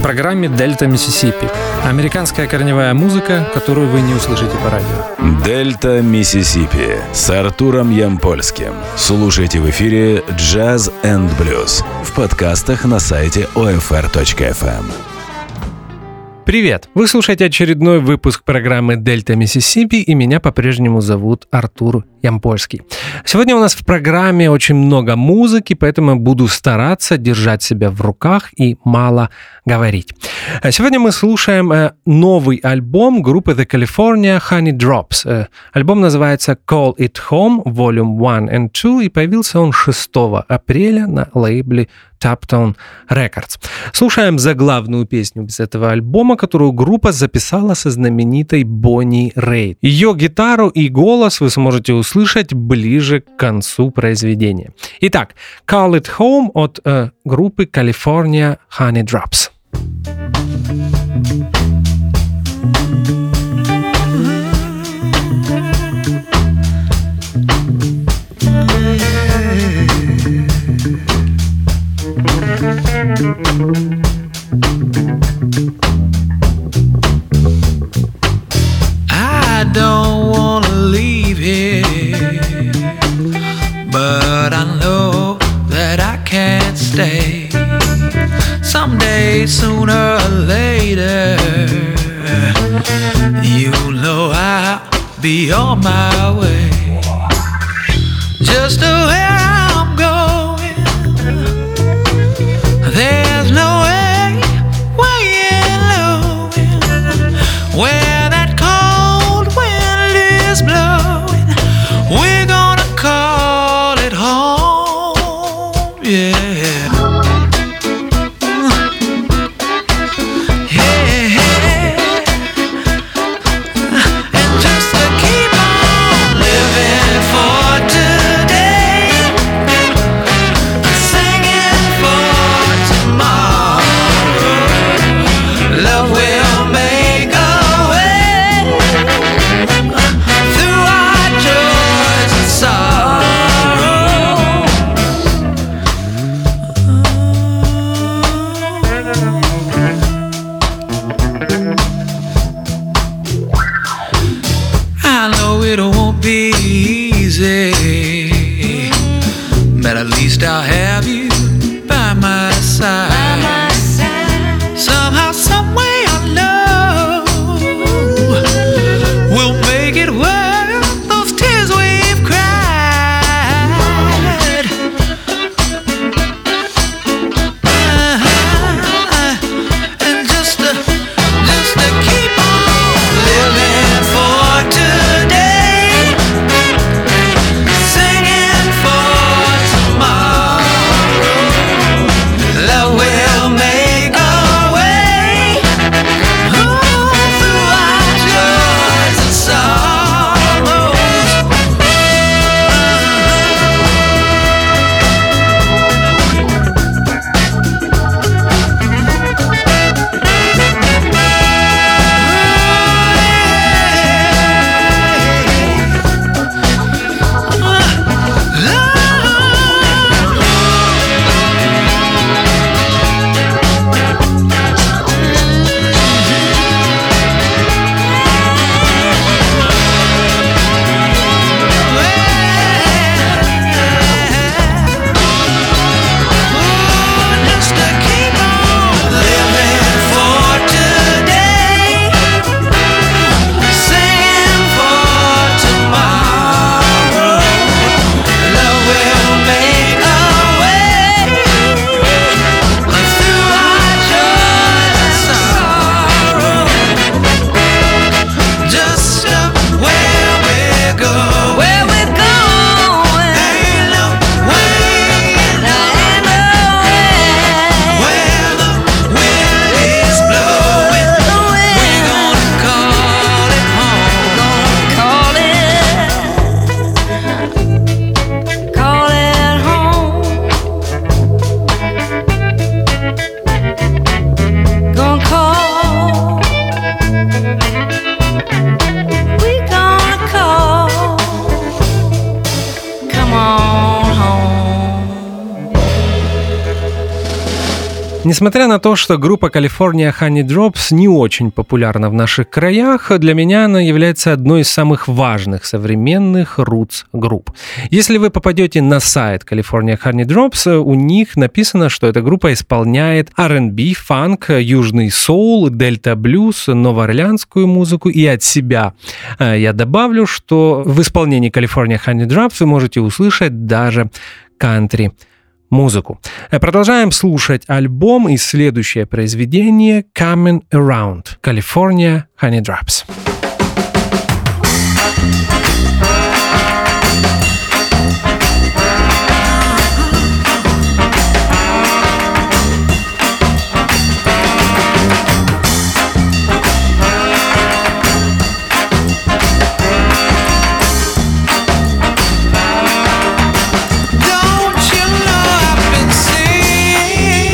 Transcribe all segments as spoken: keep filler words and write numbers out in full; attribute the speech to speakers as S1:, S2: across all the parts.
S1: программе «Дельта Миссисипи». Американская корневая музыка, которую вы не услышите по радио.
S2: «Дельта Миссисипи» с Артуром Ямпольским. Слушайте в эфире «Джаз энд блюз» в подкастах на сайте о эф эр точка эф эм.
S1: Привет! Вы слушаете очередной выпуск программы «Дельта Миссисипи», и меня по-прежнему зовут Артур Ямпольский. Сегодня у нас в программе очень много музыки, поэтому я буду стараться держать себя в руках и мало говорить. Сегодня мы слушаем новый альбом группы The California Honey Drops. Альбом называется Call It Home Volume один and два, и появился он шестого апреля на лейбле Toptone Records. Слушаем заглавную песню из этого альбома, которую группа записала со знаменитой Бонни Рейд. Ее гитару и голос вы сможете услышать ближе к концу произведения. Итак, Call It Home от э, группы California Honey Drops.
S3: I don't want to leave here, but I know that I can't stay. Someday, sooner or later, you know I'll be on my way. Just to where I'm going, there's no way, way in knowing where that cold wind is blowing. We're gonna call it home, yeah. And just to keep on living for today,
S1: Несмотря на то, что группа California Honey Drops не очень популярна в наших краях, для меня она является одной из самых важных современных рутс-групп. Если вы попадете на сайт California Honey Drops, у них написано, что эта группа исполняет ар энд би, фанк, южный соул, дельта-блюз, новоорлеанскую музыку, и от себя я добавлю, что в исполнении California Honey Drops вы можете услышать даже кантри музыку. Продолжаем слушать альбом и следующее произведение Coming Around, California Honey Drops.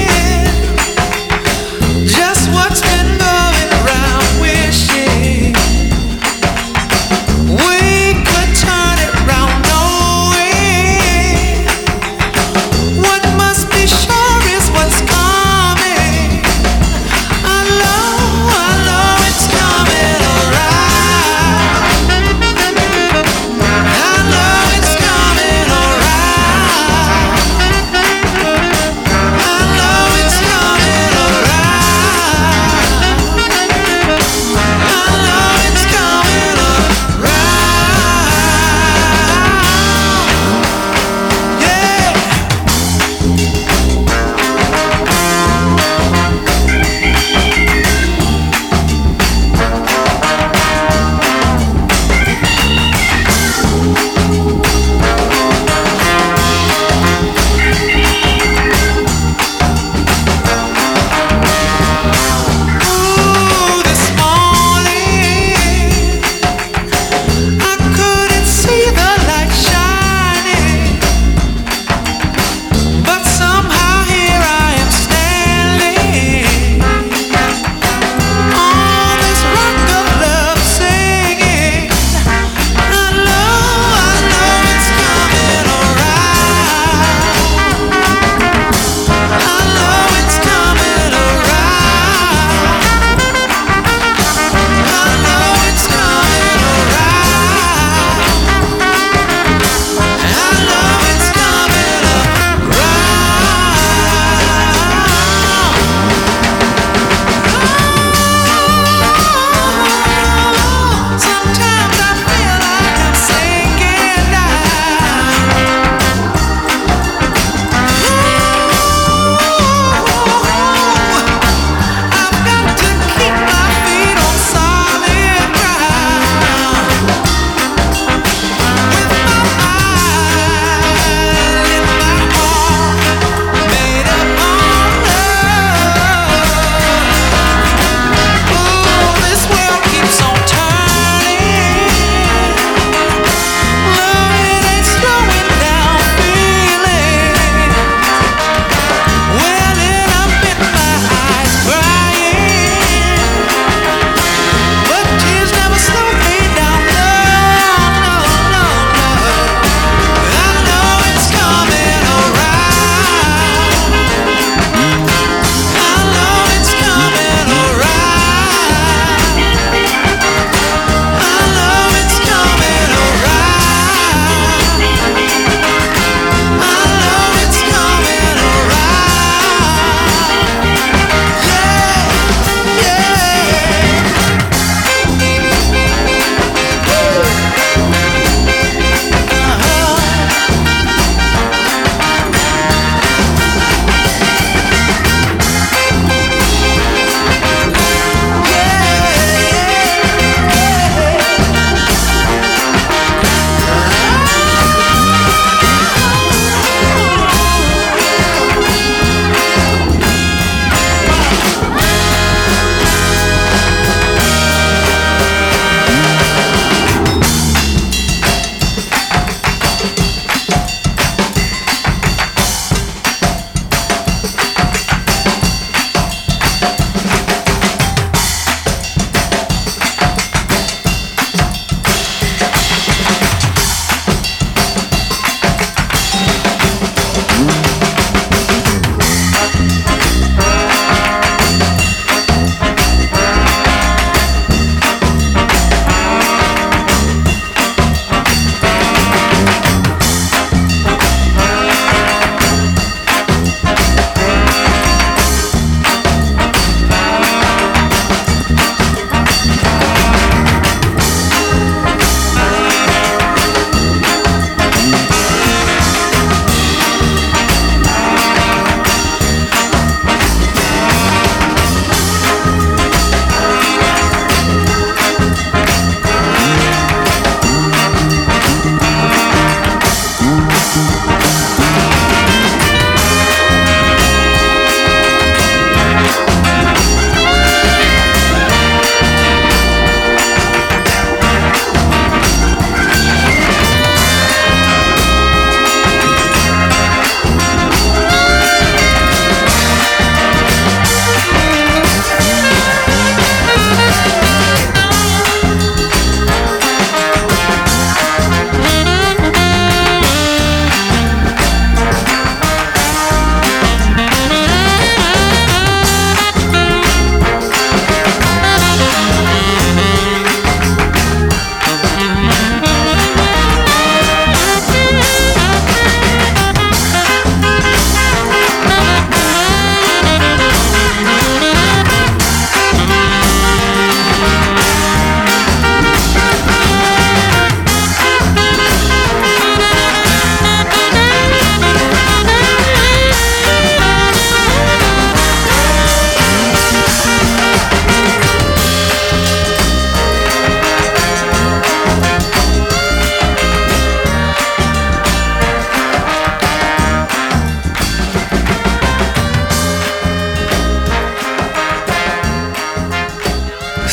S3: Just what's been going around, wishing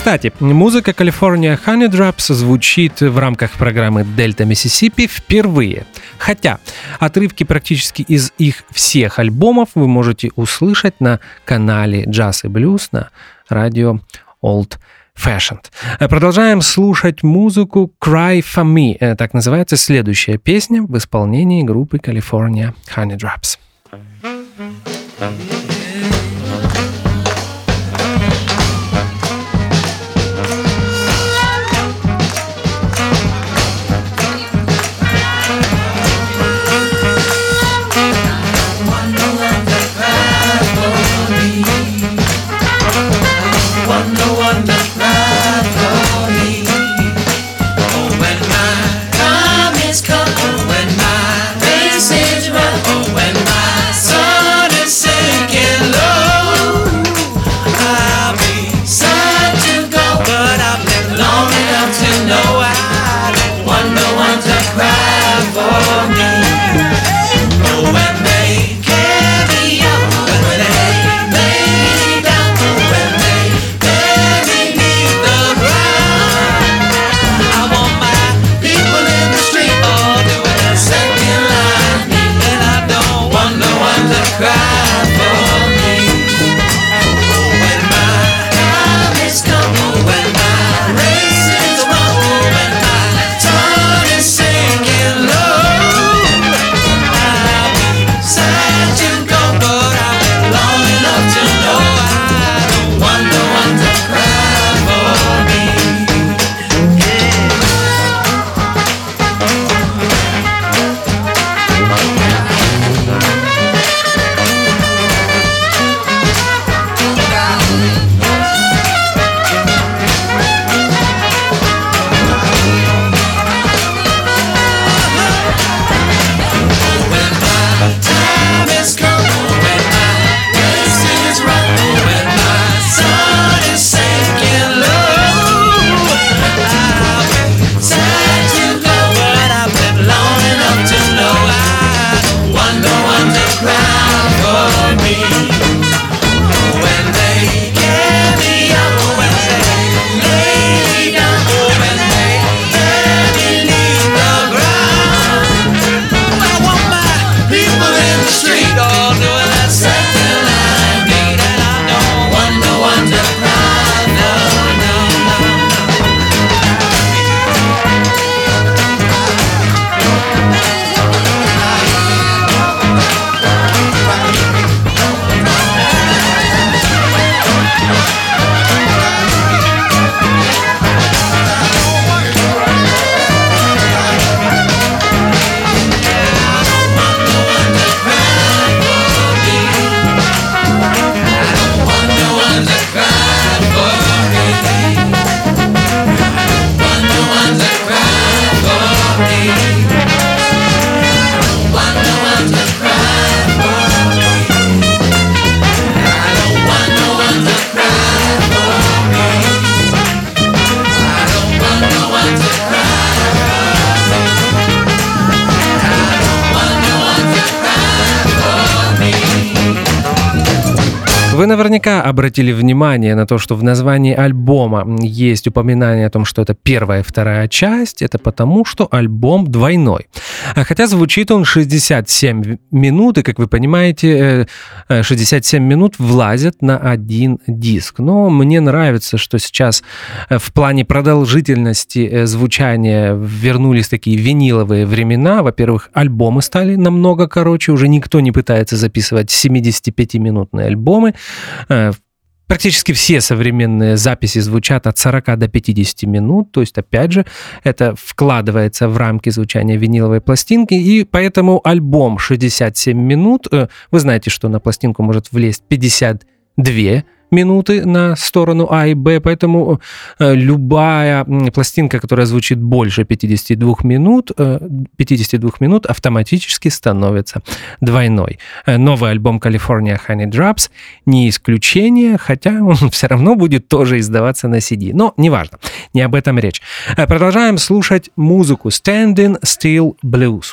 S1: Кстати, музыка California Honey Drops звучит в рамках программы Delta Mississippi впервые. Хотя отрывки практически из их всех альбомов вы можете услышать на канале Jazz и Blues на радио Old Fashioned. Продолжаем слушать музыку Cry For Me. Так называется следующая песня в исполнении группы California Honey Drops. Вы наверняка обратили внимание на то, что в названии альбома есть упоминание о том, что это первая и вторая часть. Это потому, что альбом двойной. Хотя звучит он шестьдесят семь минут, и, как вы понимаете, шестьдесят семь минут влазят на один диск. Но мне нравится, что сейчас в плане продолжительности звучания вернулись такие виниловые времена. Во-первых, альбомы стали намного короче, уже никто не пытается записывать семидесятипятиминутные альбомы. Практически все современные записи звучат от сорока до пятидесяти минут, то есть, опять же, это вкладывается в рамки звучания виниловой пластинки, и поэтому альбом шестьдесят семь минут, вы знаете, что на пластинку может влезть пятьдесят две минуты на сторону А и Б, поэтому э, любая пластинка, которая звучит больше пятидесяти двух минут, э, пятидесяти двух минут, автоматически становится двойной. Э, новый альбом California Honey Drops не исключение, хотя он все равно будет тоже издаваться на си ди. Но неважно, не об этом речь. Э, продолжаем слушать музыку Standing Still Blues.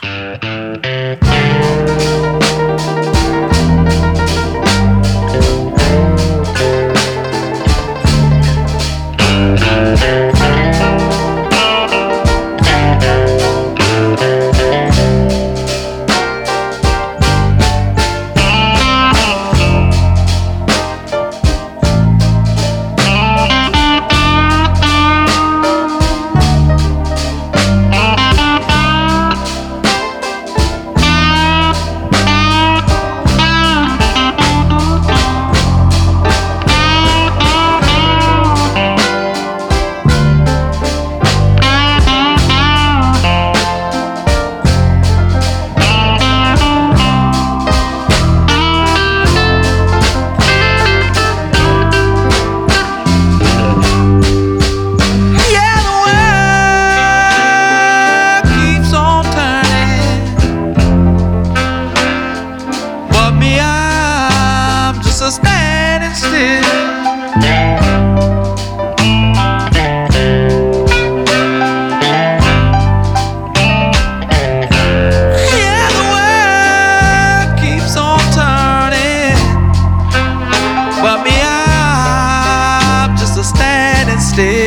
S3: wasted.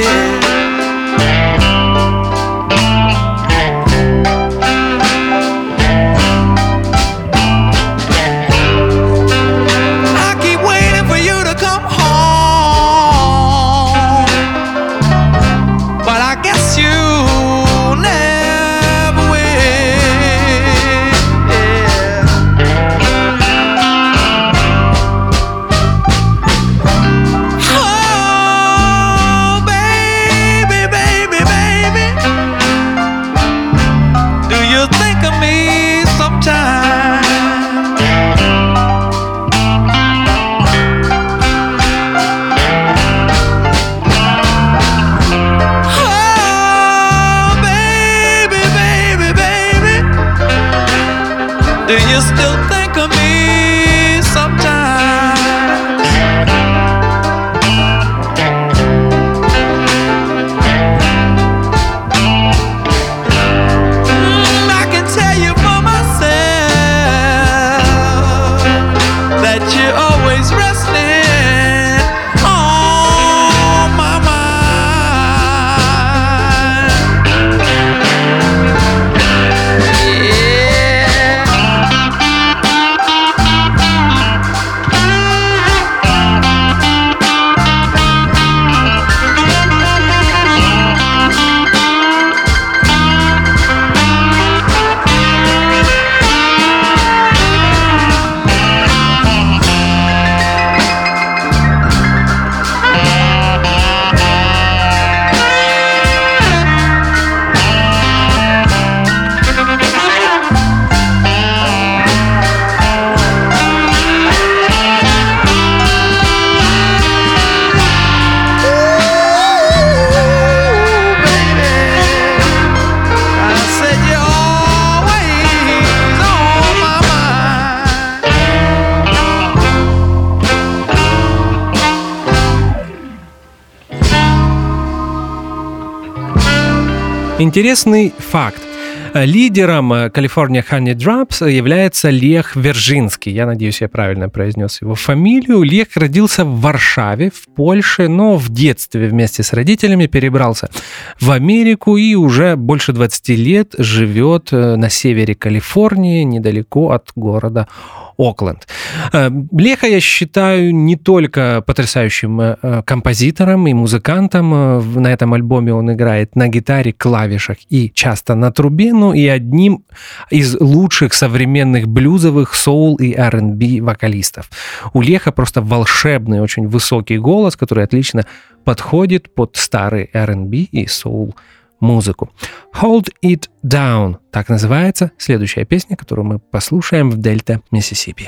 S3: Do you still think of me sometimes? Mm, I can tell you for myself that you're always resting on my mind. Yeah.
S1: Интересный факт. Лидером California Honey Drops является Лех Вержинский. Я надеюсь, я правильно произнес его фамилию. Лех родился в Варшаве, в Польше, но в детстве вместе с родителями перебрался в Америку и уже больше двадцать лет живет на севере Калифорнии, недалеко от города Окленд. Леха я считаю не только потрясающим композитором и музыкантом. На этом альбоме он играет на гитаре, клавишах и часто на трубе, но и одним из лучших современных блюзовых, соул и ар энд би вокалистов. У Леха просто волшебный, очень высокий голос, который отлично подходит под старый ар энд би и соул музыку. Hold It Down, так называется следующая песня, которую мы послушаем в Дельта, Миссисипи.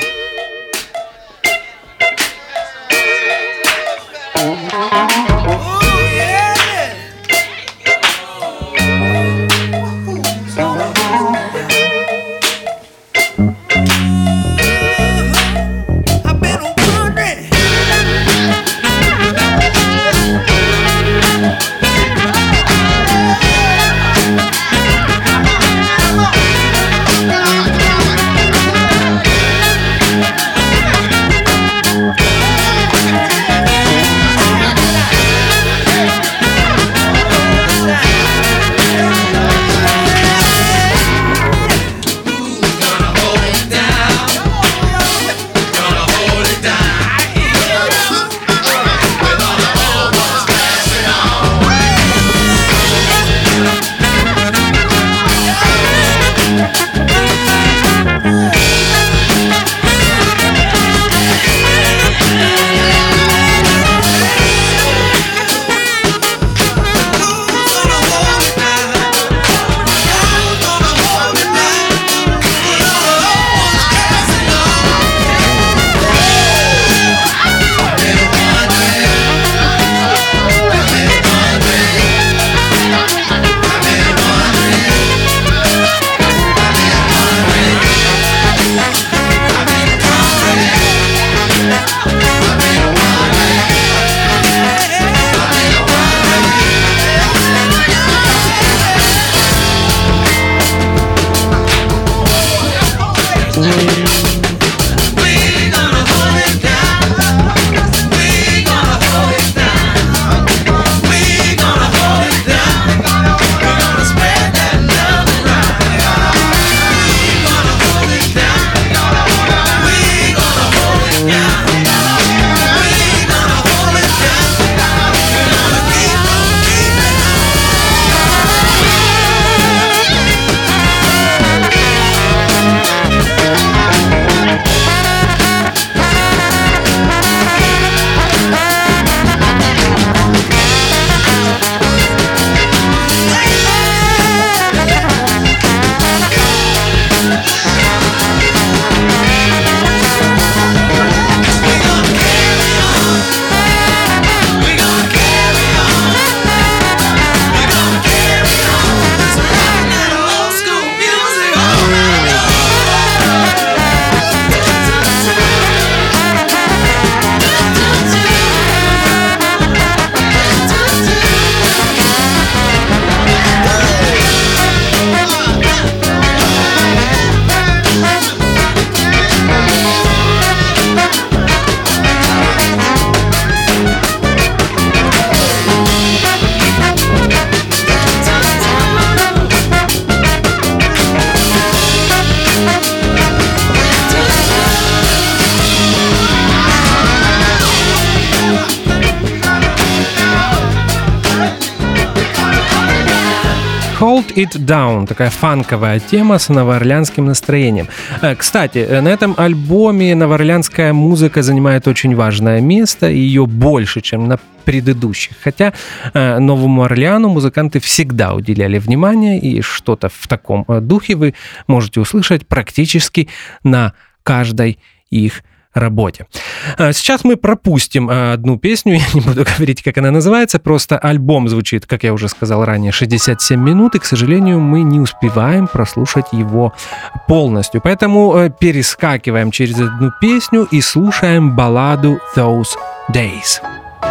S1: Hold It Down, такая фанковая тема с новоорлеанским настроением. Кстати, на этом альбоме новоорлеанская музыка занимает очень важное место, ее больше, чем на предыдущих. Хотя Новому Орлеану музыканты всегда уделяли внимание, и что-то в таком духе вы можете услышать практически на каждой их работе. Сейчас мы пропустим одну песню, я не буду говорить, как она называется, просто альбом звучит, как я уже сказал ранее, шестьдесят семь минут, и, к сожалению, мы не успеваем прослушать его полностью. Поэтому перескакиваем через одну песню и слушаем балладу «Those Days».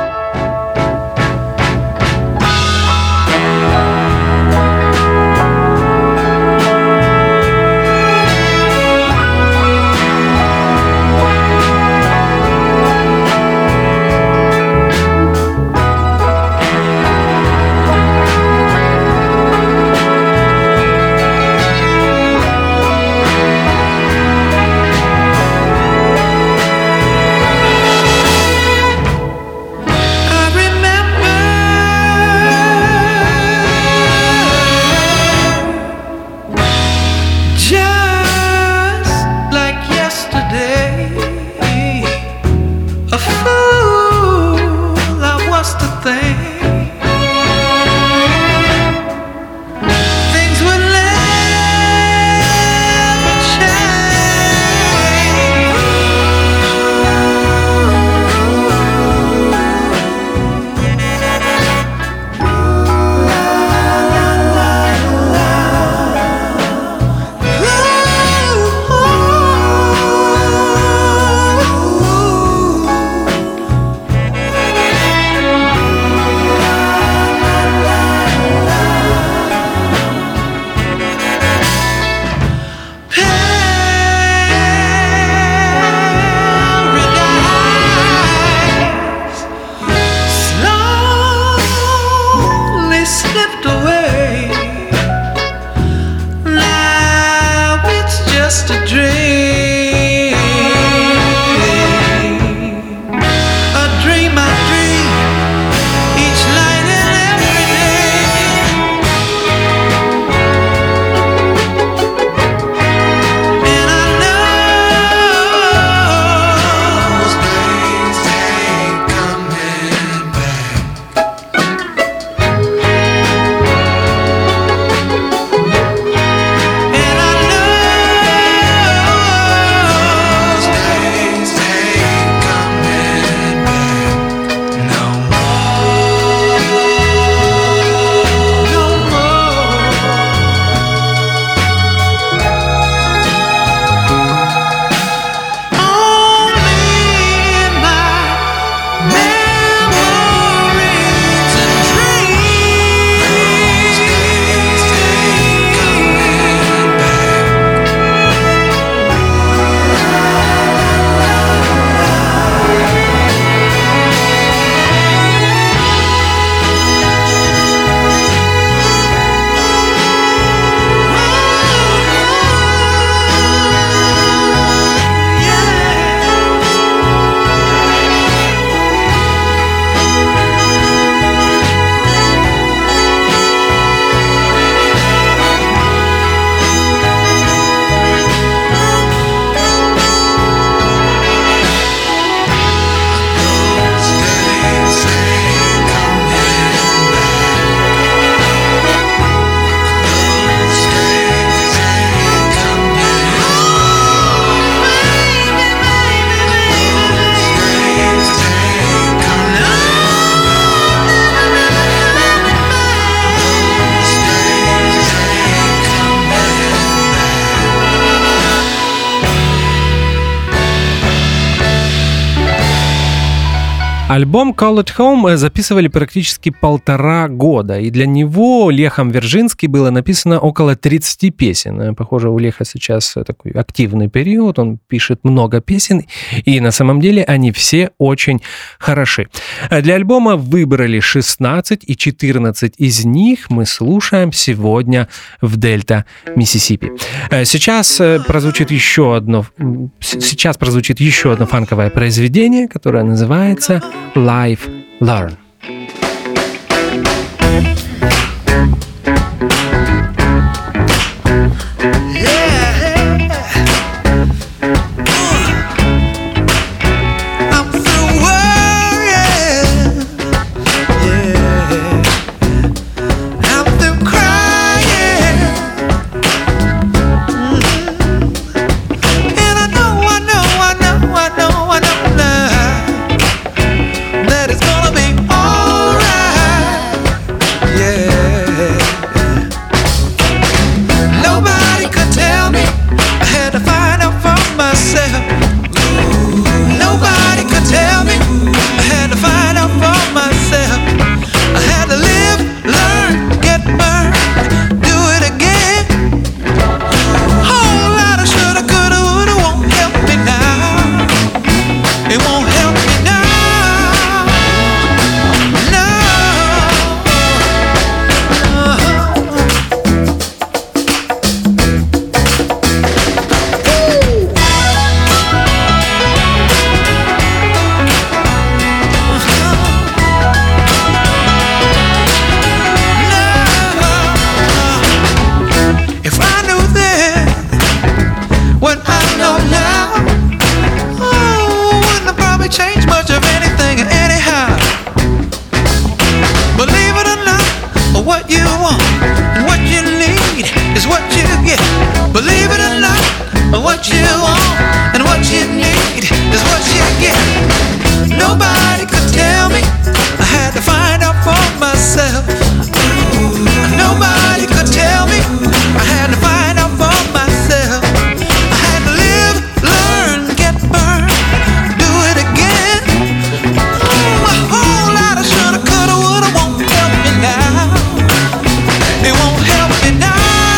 S1: Альбом Call It Home записывали практически полтора года, и для него Лехом Вержински было написано около тридцати песен. Похоже, у Леха сейчас такой активный период, он пишет много песен, и на самом деле они все очень хороши. Для альбома выбрали шестнадцать, и четырнадцать из них мы слушаем сегодня в Дельта, Миссисипи. Сейчас прозвучит еще одно, сейчас прозвучит еще одно фанковое произведение, которое называется Live Learn.
S3: is what you get. Believe it or not, what you want and what you need is what you get. Nobody could tell me, I had to find out for myself. Nobody could tell me, I had to find out for myself. I had to live, learn, get burned, do it again. A whole lot of shoulda, coulda, woulda won't help me now. It won't help me now.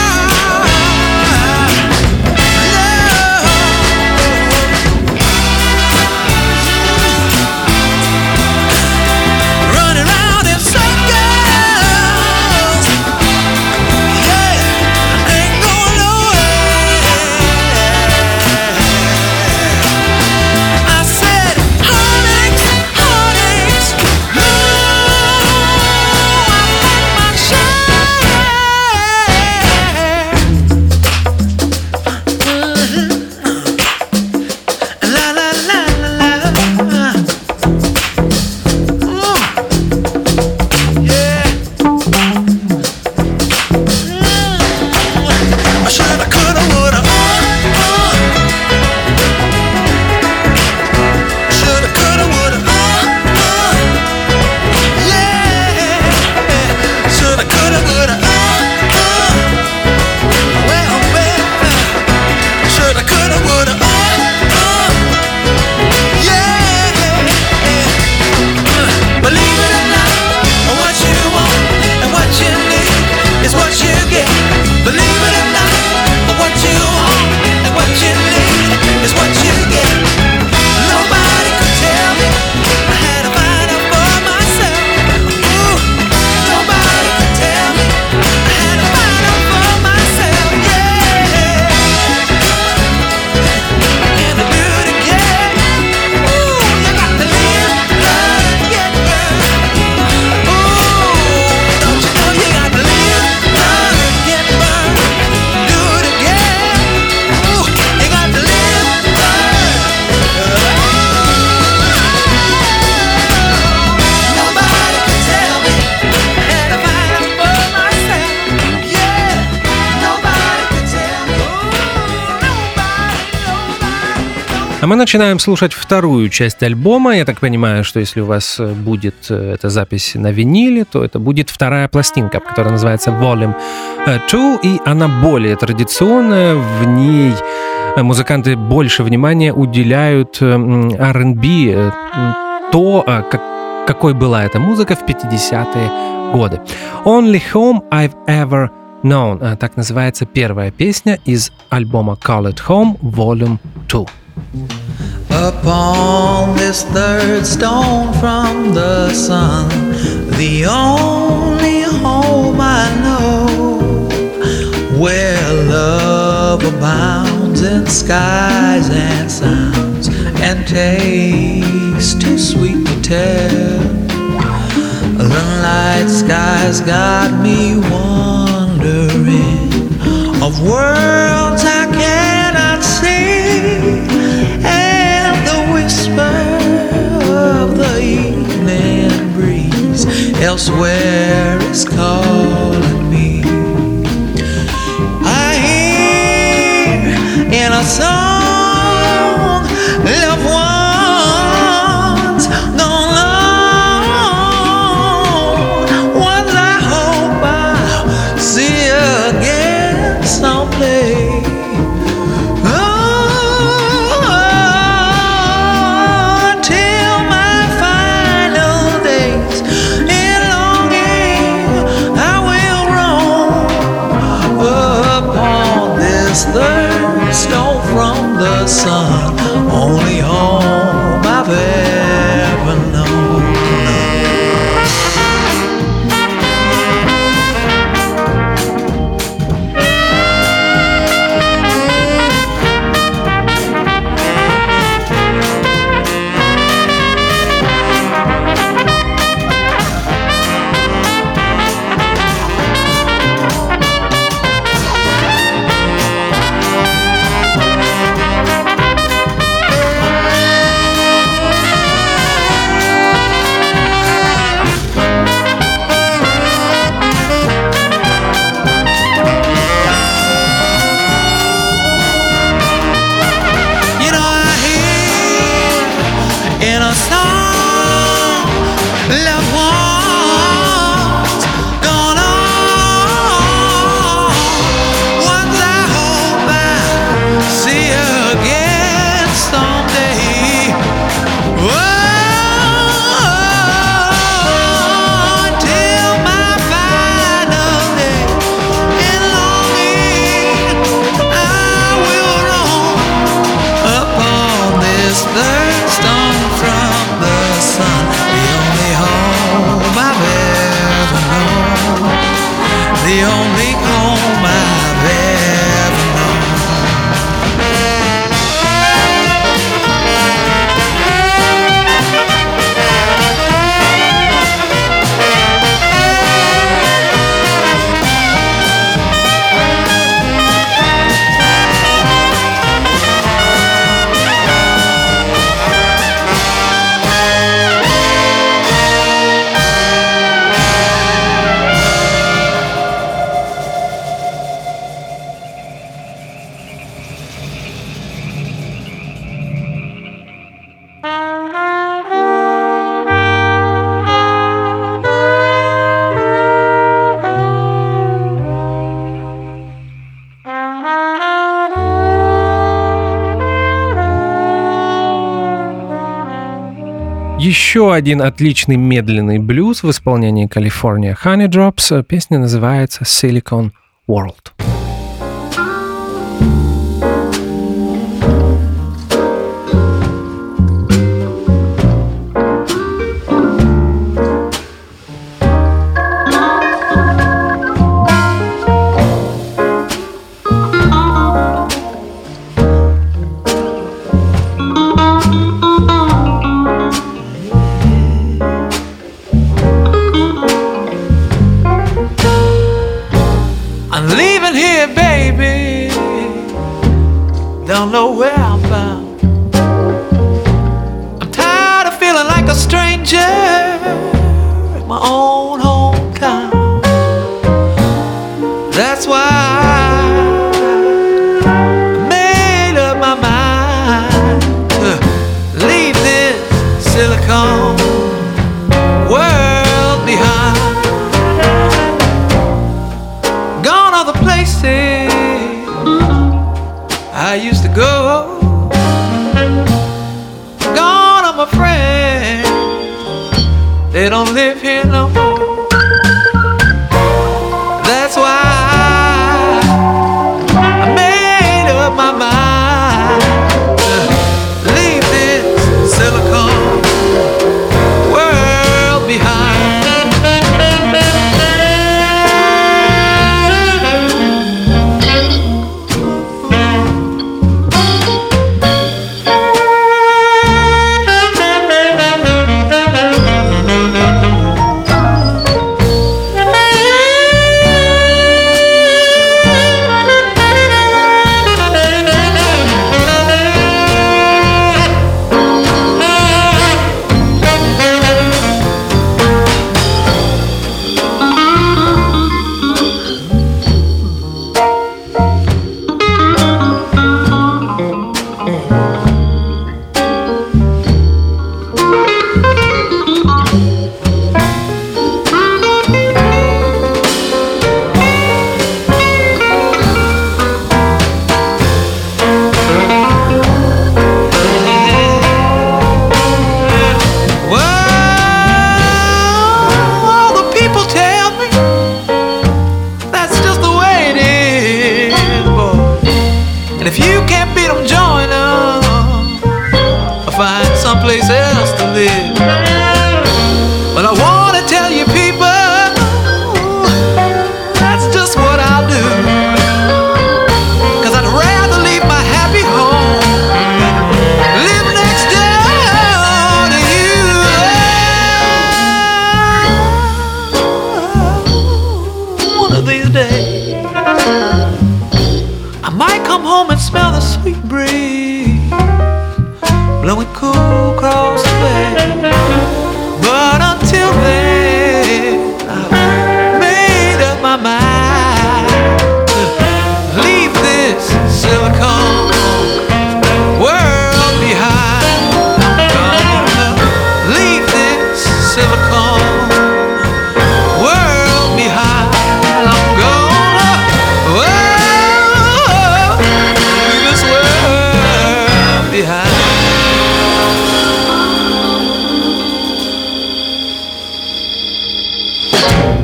S1: А мы начинаем слушать вторую часть альбома. Я так понимаю, что если у вас будет эта запись на виниле, то это будет вторая пластинка, которая называется Volume два, и она более традиционная. В ней музыканты больше внимания уделяют ар энд би, то, как, какой была эта музыка в пятидесятые годы. Only Home I've Ever Known. Так называется первая песня из альбома Call It Home Volume два.
S3: Upon this third stone from the sun, the only home I know, where love abounds in skies and sounds, and tastes too sweet to tell. The night skies got me wondering of worlds I cannot see, and the whisper of the evening breeze elsewhere is calling me. I hear in a song loved ones gone long, ones I hope I'll see again someday. loved ones gone on. Ones I hope I see again someday. Whoa. The only home I've ever known.
S1: Еще один отличный медленный блюз в исполнении California Honey Drops. Песня называется Silicon World.
S3: Don't know where I'm bound. I'm tired of feeling like a stranger in my own hometown. That's why I made up my mind to leave this silicone world behind. Gone are the places I used to go. Gone are my friends, they don't live here no more. That's why I made up my mind to leave this silicone world behind. Someplace else to live. But I want to tell you people, that's just what I'll do. Cause I'd rather leave my happy home, live next door to you. One of these days I might come home and smell the sweet breeze blowing cool across the bay. But until then, I've made up my mind to leave this silicone world behind. I'm gonna leave this silicone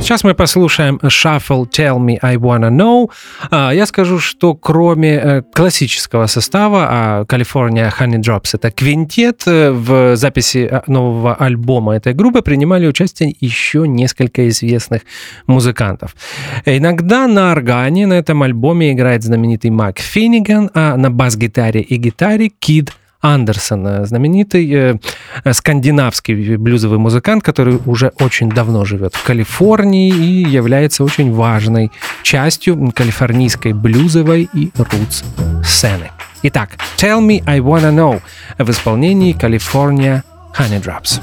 S1: Сейчас мы послушаем Shuffle Tell Me I Wanna Know. Я скажу, что кроме классического состава, California Honey Drops — это квинтет, в записи нового альбома этой группы принимали участие еще несколько известных музыкантов. Иногда на органе на этом альбоме играет знаменитый Мак Финниган, а на бас-гитаре и гитаре Кид Андерсон, знаменитый э, скандинавский блюзовый музыкант, который уже очень давно живет в Калифорнии и является очень важной частью калифорнийской блюзовой и рутс-сцены. Итак, Tell Me I Wanna Know в исполнении California Honey Drops.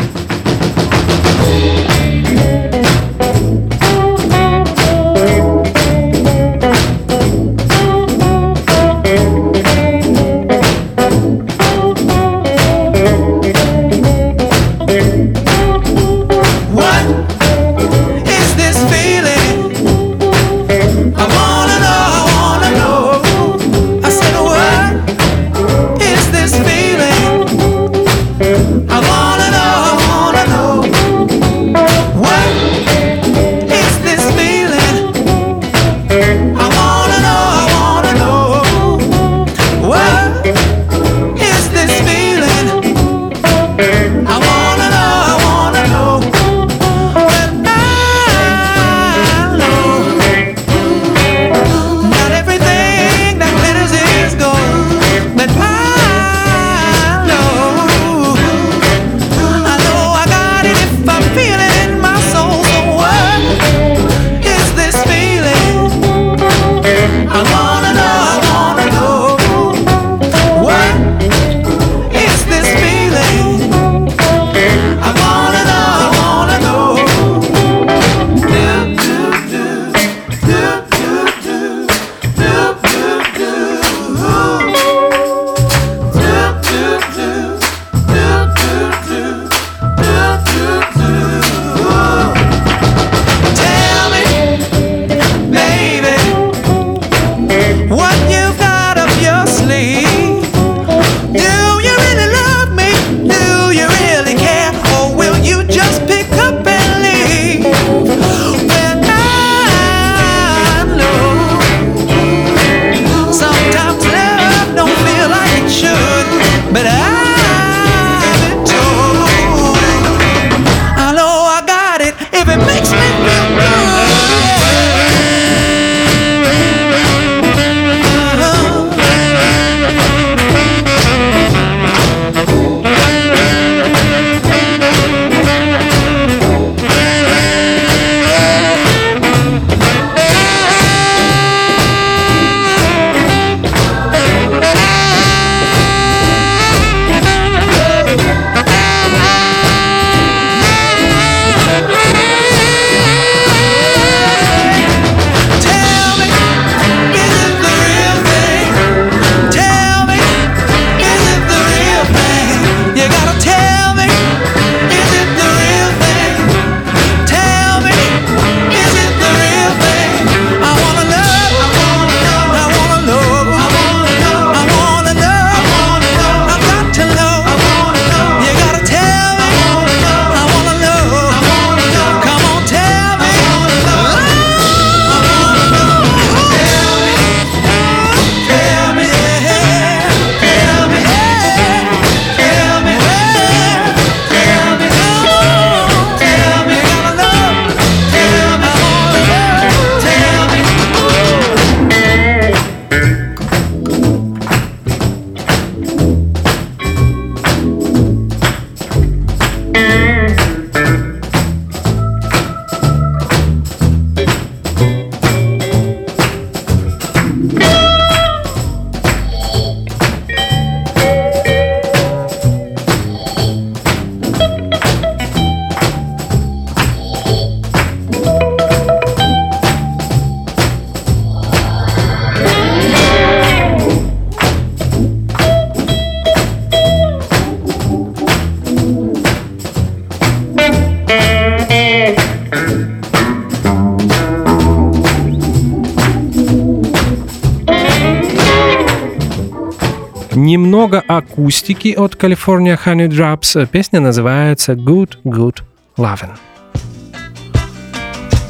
S1: Немного акустики от California Honey Drops. Песня называется Good Good Lovin'.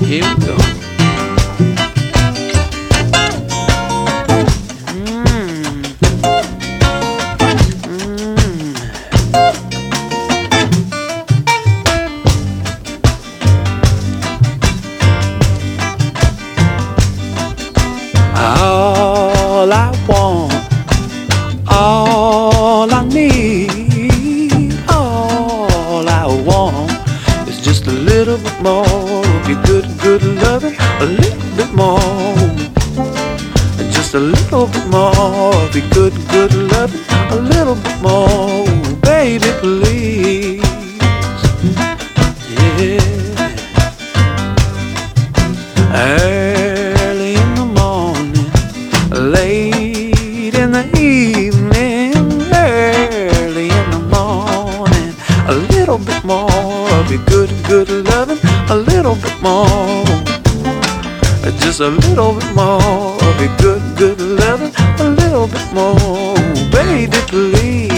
S3: Here we go. All I want, all I need, all I want is just a little bit more of your good, good loving, a little bit more, just a little bit more of your good, good loving, a little bit more, baby, please, yeah. Early in the morning, late in the evening, early in the morning, a little bit more of your good, good loving, a little bit more, just a little bit more of your good, good loving, a little bit more, baby, please.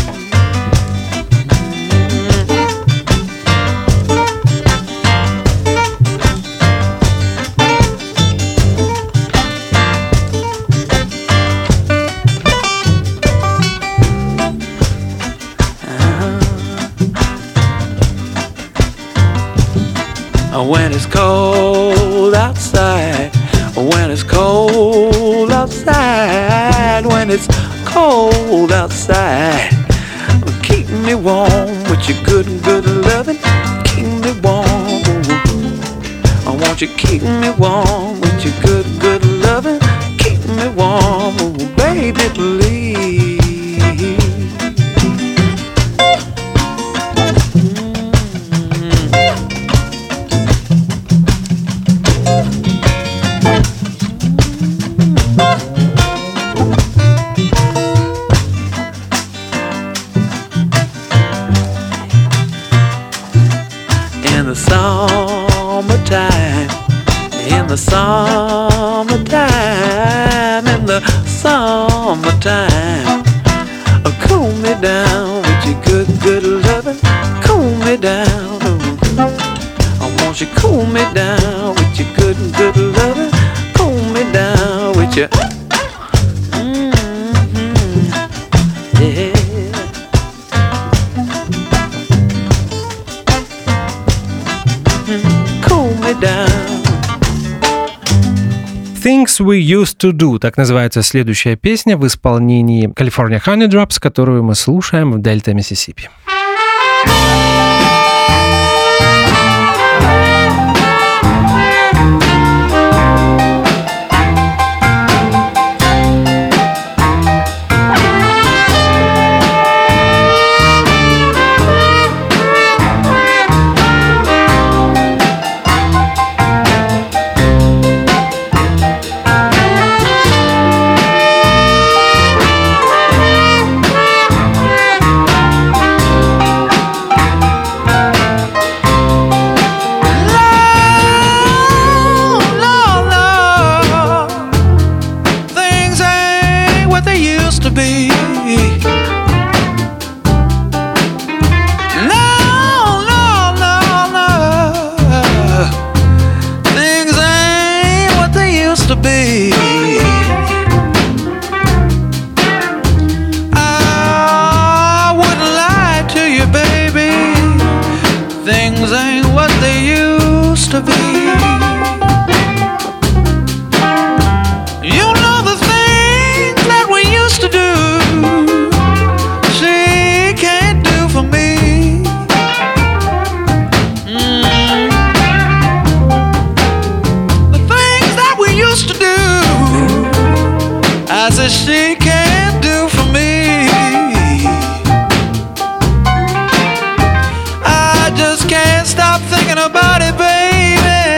S3: When it's cold outside, when it's cold outside, when it's cold outside, keep me warm with your good, good loving, keep me warm. I want you keep me warm with your good, good loving, keep me warm, baby, please. In the summertime, in the summertime, in the summertime, cool me down with your good, good loving, cool me down. I want you cool me down with your good, good loving, cool me down with your, mm-hmm, yeah.
S1: Things We Used to Do. Так называется следующая песня в исполнении California Honey Drops, которую мы слушаем в Дельта Миссисипи.
S3: About it, baby.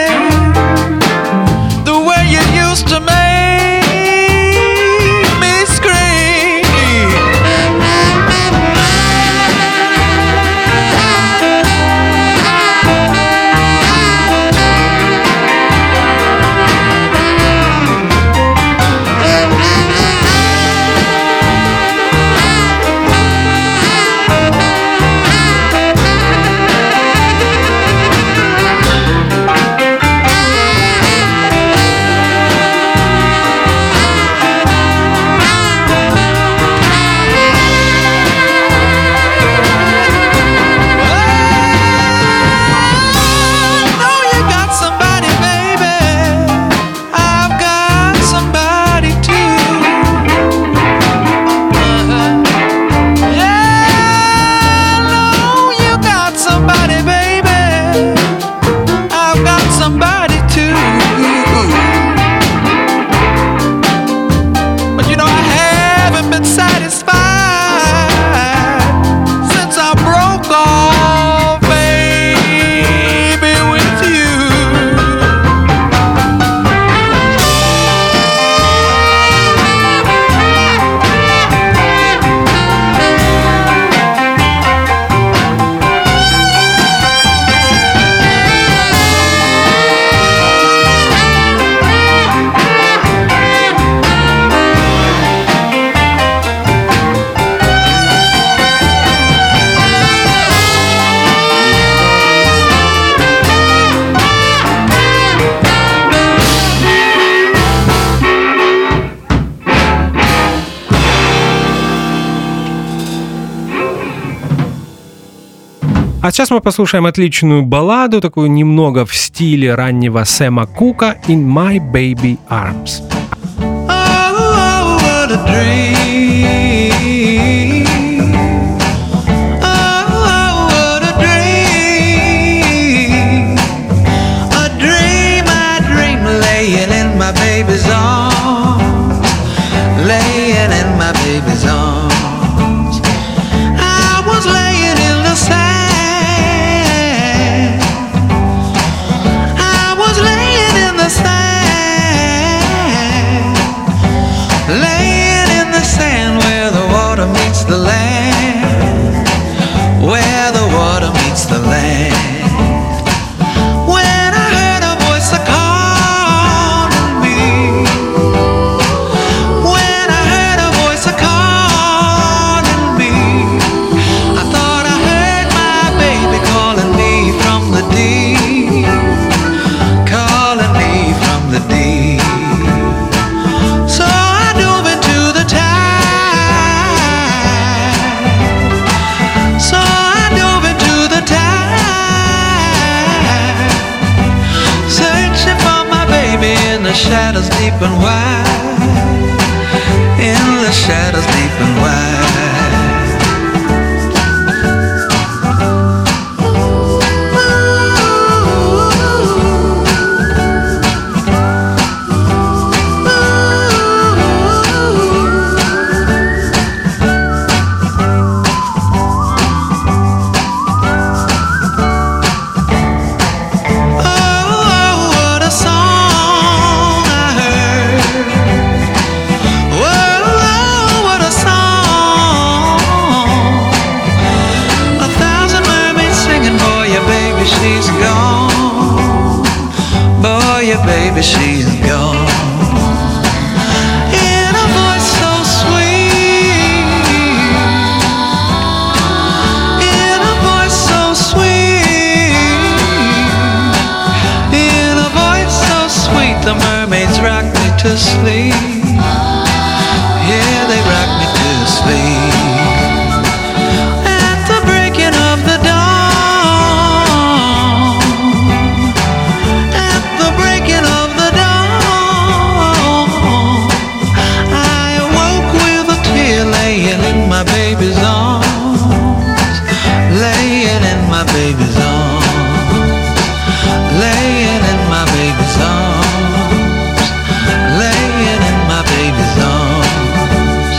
S1: А сейчас мы послушаем отличную балладу, такую немного в стиле раннего Сэма Кука, «In My Baby Arms».
S3: Oh, what a dream. Baby's arms, laying in my baby's arms. I was laying in the sand. I was laying in the sand, laying in the sand where the water meets the land, where the water meets the land. Shadows deep and wide, in the shadows deep and wide. Baby, she's gone. In a voice so sweet, in a voice so sweet, in a voice so sweet, the mermaids rock me to sleep. Yeah, they rock me to sleep. At the breaking of the dawn, my baby's arms, laying in my baby's arms, laying in my baby's arms, laying in my baby's arms.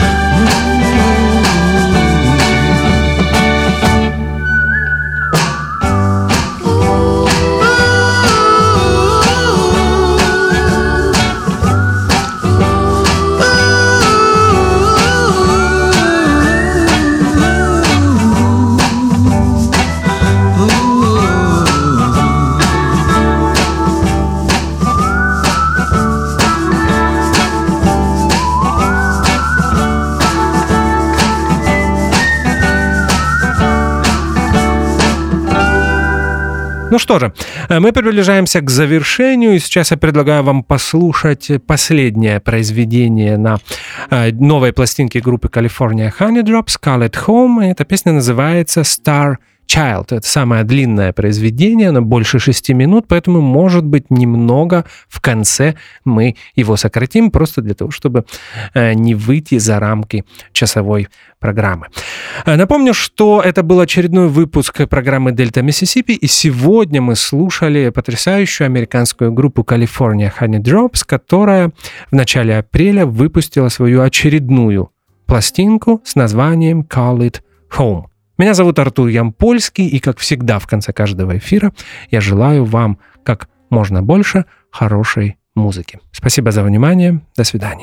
S1: Ну что же, мы приближаемся к завершению, и сейчас я предлагаю вам послушать последнее произведение на новой пластинке группы California Honey Drops, Call It Home. Эта песня называется Star Child. Это самое длинное произведение, оно больше шести минут, поэтому, может быть, немного в конце мы его сократим, просто для того, чтобы не выйти за рамки часовой программы. Напомню, что это был очередной выпуск программы Delta Mississippi, и сегодня мы слушали потрясающую американскую группу California Honey Drops, которая в начале апреля выпустила свою очередную пластинку с названием Call It Home. Меня зовут Артур Ямпольский, и, как всегда, в конце каждого эфира я желаю вам как можно больше хорошей музыки. Спасибо за внимание. До свидания.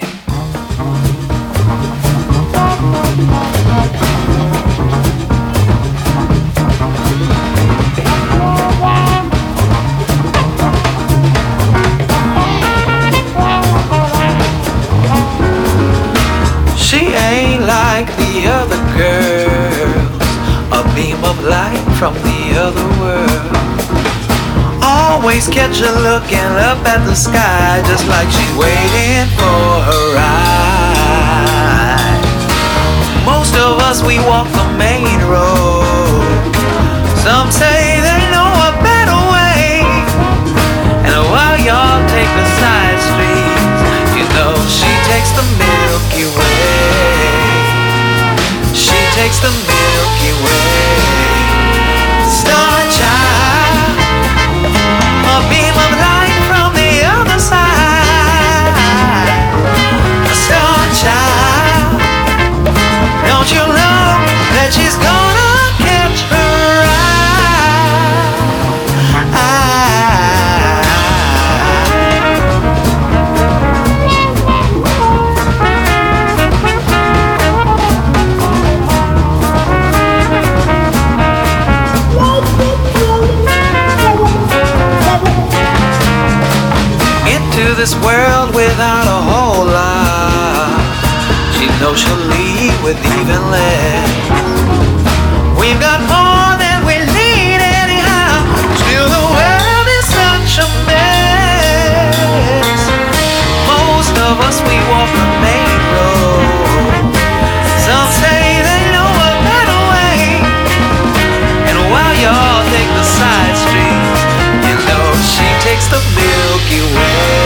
S3: She ain't like the other girls, a beam of light from the other world. Always catch her looking up at the sky, just like she's waiting for her ride. Most of us, we walk the main road, Some say they know a better way. And while y'all take the side streets, you know she takes the Milky Way. She takes the Milky Way. Star child, a beam of light from the other side. A star child, don't you know that she's gonna catch her this world without a whole lot. She knows she'll leave with even less. We've got more than we need anyhow. Still the world is such a mess. Most of us, we walk the main road. Some say they know a better way. And while y'all take the side streets, you know she takes the Milky Way.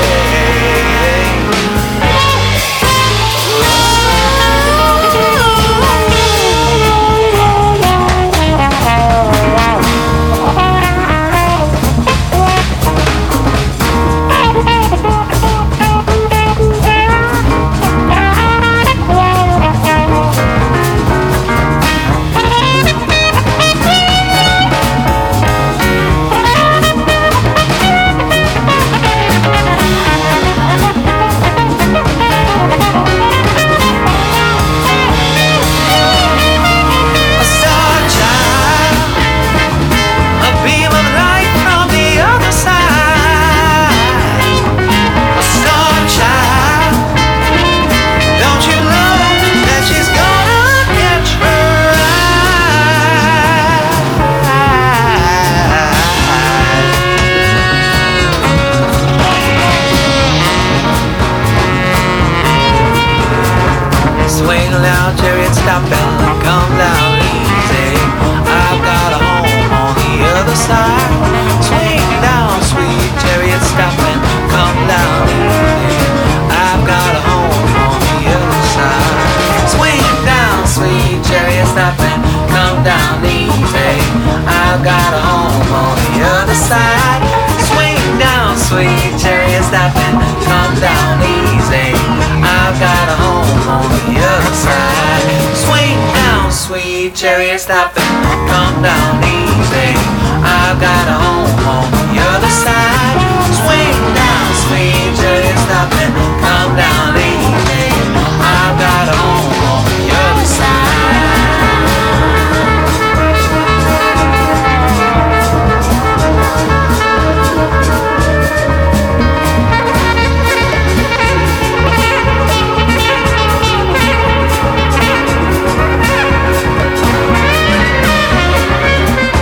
S3: Chariot stopping, come down easy. I've got a home on the other side. Swing down, sweet chariot stopping, come down easy. I've got a home on the other side.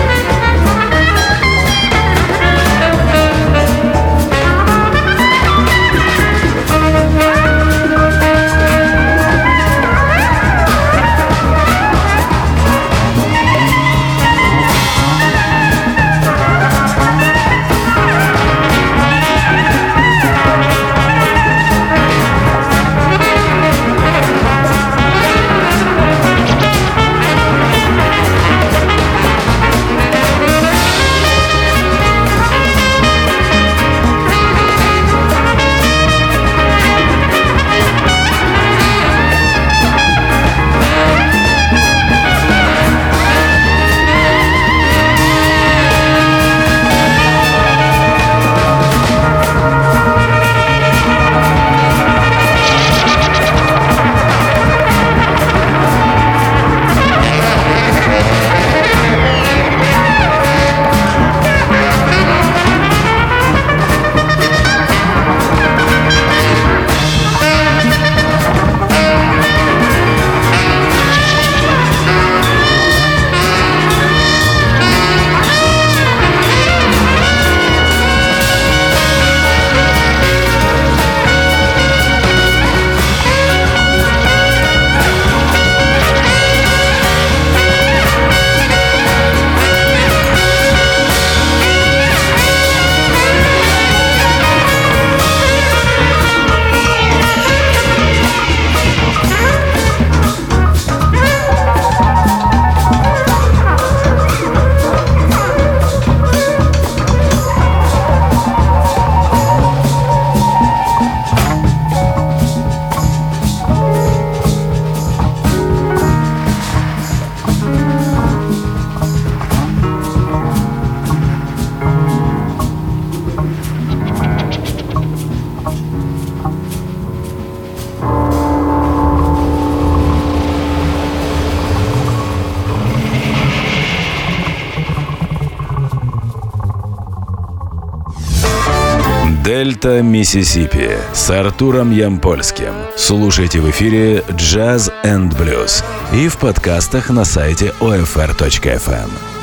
S2: Дельта Миссисипи с Артуром Ямпольским. Слушайте в эфире Jazz энд Blues и в подкастах на сайте о эф эр точка эф эм.